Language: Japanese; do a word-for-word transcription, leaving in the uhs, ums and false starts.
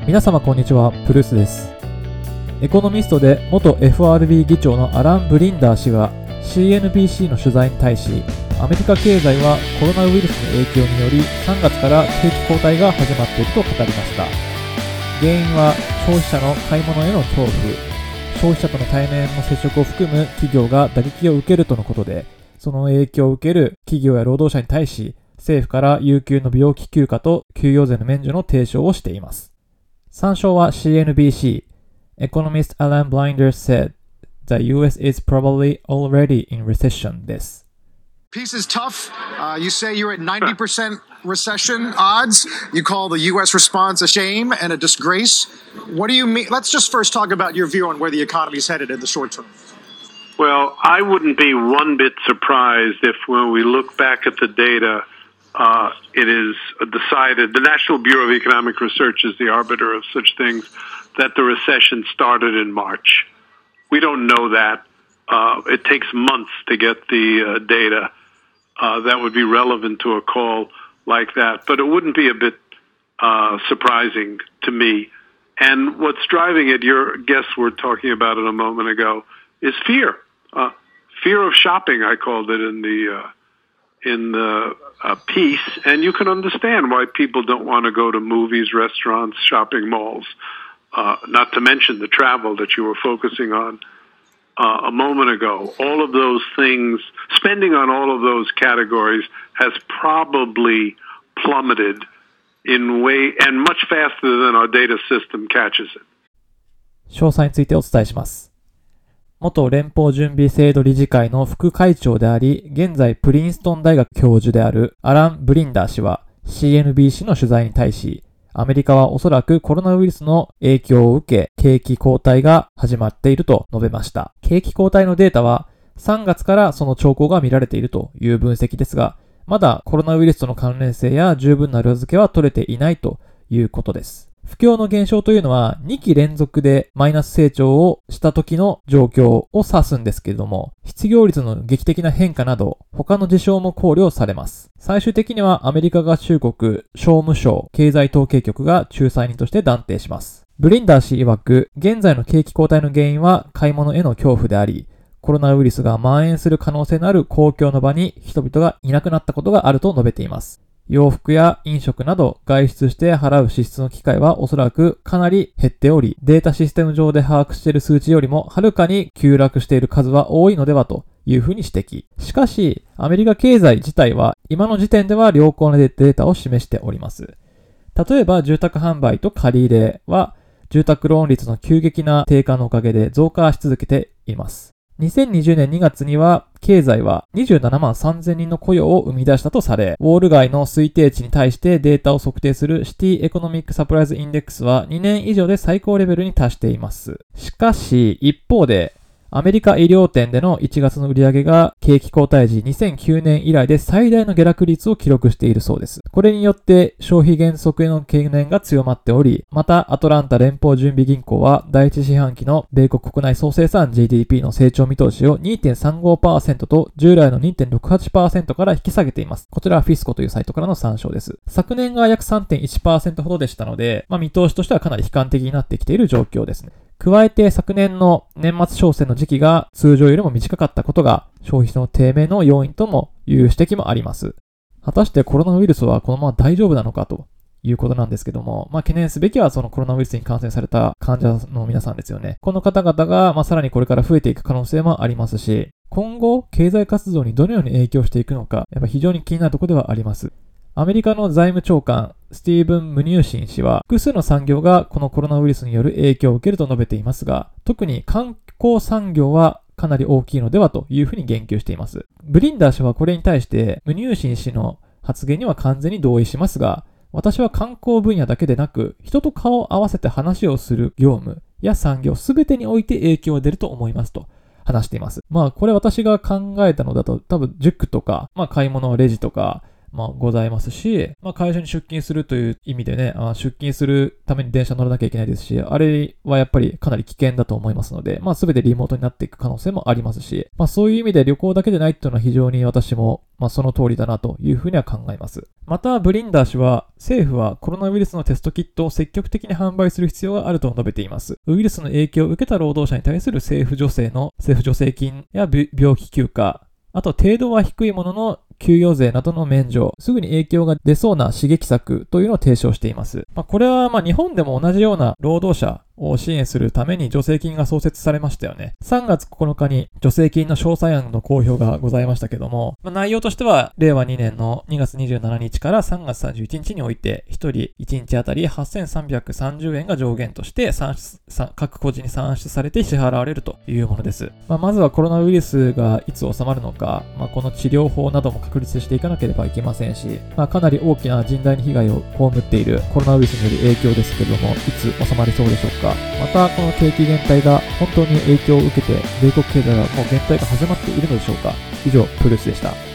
皆様こんにちは、プルースです。エコノミストで元 エフアールビー 議長のアラン・ブリンダー氏が シーエヌビーシー の取材に対し、アメリカ経済はコロナウイルスの影響によりさんがつから景気後退が始まっていると語りました。原因は消費者の買い物への恐怖、消費者との対面の接触を含む企業が打撃を受けるとのことで、その影響を受ける企業や労働者に対し、政府から有給の病気休暇と給与税の免除の提唱をしています。参照は シーエヌビーシー。Economist Alan Blinders said, The ユーエス is probably already in recession です。 Peace is tough. Uh, you say you're at ninety percent recession odds. You call the U S response a shame and a disgrace. What do you mean? Let's just first talk about your view on where the economy is headed in the short term. Well, I wouldn't be one bit surprised if when we look back at the data, uh, it is decided, the National Bureau of Economic Research is the arbiter of such things, that the recession started in March. We don't know that. Uh, it takes months to get the uh, data uh, that would be relevant to a call like that. But it wouldn't be a bit uh, surprising to me. And what's driving it, your guests were talking about it a moment ago, is fear. Uh, fear of shopping, I called it in the uh, in the uh, piece. And you can understand why people don't want to go to movies, restaurants, shopping malls. Uh, not to mention the travel that you were focusing on uh, a moment ago. All of those things, spending on all of those categories has probably plummeted in way and much faster than our data system catches it. 詳細についてお伝えします。元連邦準備制度理事会の副会長であり、現在プリンストン大学教授であるアラン・ブリンダー氏は シーエヌビーシー の取材に対し、アメリカはおそらくコロナウイルスの影響を受け、景気後退が始まっていると述べました。景気後退のデータはさんがつからその兆候が見られているという分析ですが、まだコロナウイルスとの関連性や十分な裏付けは取れていないということです。不況の減少というのはにき連続でマイナス成長をした時の状況を指すんですけれども、失業率の劇的な変化など他の事象も考慮されます。最終的にはアメリカ合衆国商務省経済統計局が仲裁人として断定します。ブリンダー氏曰く、現在の景気後退の原因は買い物への恐怖であり、コロナウイルスが蔓延する可能性のある公共の場に人々がいなくなったことがあると述べています。洋服や飲食など外出して払う支出の機会はおそらくかなり減っており、データシステム上で把握している数値よりもはるかに急落している数は多いのではというふうに指摘。しかし、アメリカ経済自体は今の時点では良好なデータを示しております。例えば住宅販売と借り入れは住宅ローン率の急激な低下のおかげで増加し続けています。にせんにじゅうねんにがつには経済はにじゅうななまんさんぜんにんの雇用を生み出したとされ、ウォール街の推定値に対してデータを測定するシティエコノミックサプライズインデックスはにねん以上で最高レベルに達しています。しかし一方でアメリカ衣料店でのいちがつの売上が景気後退時にせんきゅうねん以来で最大の下落率を記録しているそうです。これによって消費減速への懸念が強まっており、またアトランタ連邦準備銀行は第一四半期の米国国内総生産 ジーディーピー の成長見通しを にてんさんごパーセント と従来の にてんろくはちパーセント から引き下げています。こちらはフィスコというサイトからの参照です。昨年が約 さんてんいちパーセント ほどでしたので、まあ、見通しとしてはかなり悲観的になってきている状況ですね。加えて昨年の年末商戦の時期が通常よりも短かったことが消費の低迷の要因ともいう指摘もあります。果たしてコロナウイルスはこのまま大丈夫なのかということなんですけども、まあ懸念すべきはそのコロナウイルスに感染された患者の皆さんですよね。この方々がまあさらにこれから増えていく可能性もありますし、今後経済活動にどのように影響していくのか、やっぱ非常に気になるところではあります。アメリカの財務長官スティーブン・ムニューシン氏は複数の産業がこのコロナウイルスによる影響を受けると述べていますが、特に観光産業はかなり大きいのではというふうに言及しています。ブリンダー氏はこれに対してムニューシン氏の発言には完全に同意しますが、私は観光分野だけでなく人と顔を合わせて話をする業務や産業すべてにおいて影響が出ると思いますと話しています。まあこれ私が考えたのだと多分塾とか、まあ買い物レジとか、 まあ、ございますし、まあ、会社に出勤するという意味でね、あ出勤するために電車乗らなきゃいけないですし、あれはやっぱりかなり危険だと思いますので、まあ、全てリモートになっていく可能性もありますし、まあ、そういう意味で旅行だけでないっていうのは非常に私もまあ、その通りだなというふうには考えます。また、ブリンダー氏は、政府はコロナウイルスのテストキットを積極的に販売する必要があると述べています。ウイルスの影響を受けた労働者に対する政府助成の政府助成金や病気休暇、あと程度は低いものの給与税などの免除、すぐに影響が出そうな刺激策というのを提唱しています。まあ、これはまあ日本でも同じような労働者を支援するために助成金が創設されましたよね。さんがつここのかに助成金の詳細案の公表がございましたけども、まあ、内容としてはれいわにねんのにがつにじゅうしちにちからさんがつさんじゅういちにちにおいてひとりいちにちあたりはっせんさんびゃくさんじゅうえんが上限として算出各個人に算出されて支払われるというものです。まあ、まずはコロナウイルスがいつ収まるのか、まあ、この治療法なども確立していかなければいけませんし、まあ、かなり大きな甚大に被害を被っているコロナウイルスによる影響ですけれども、いつ収まりそうでしょうか。またこの景気減退が本当に影響を受けて米国経済はもう減退が始まっているのでしょうか。以上、プルースでした。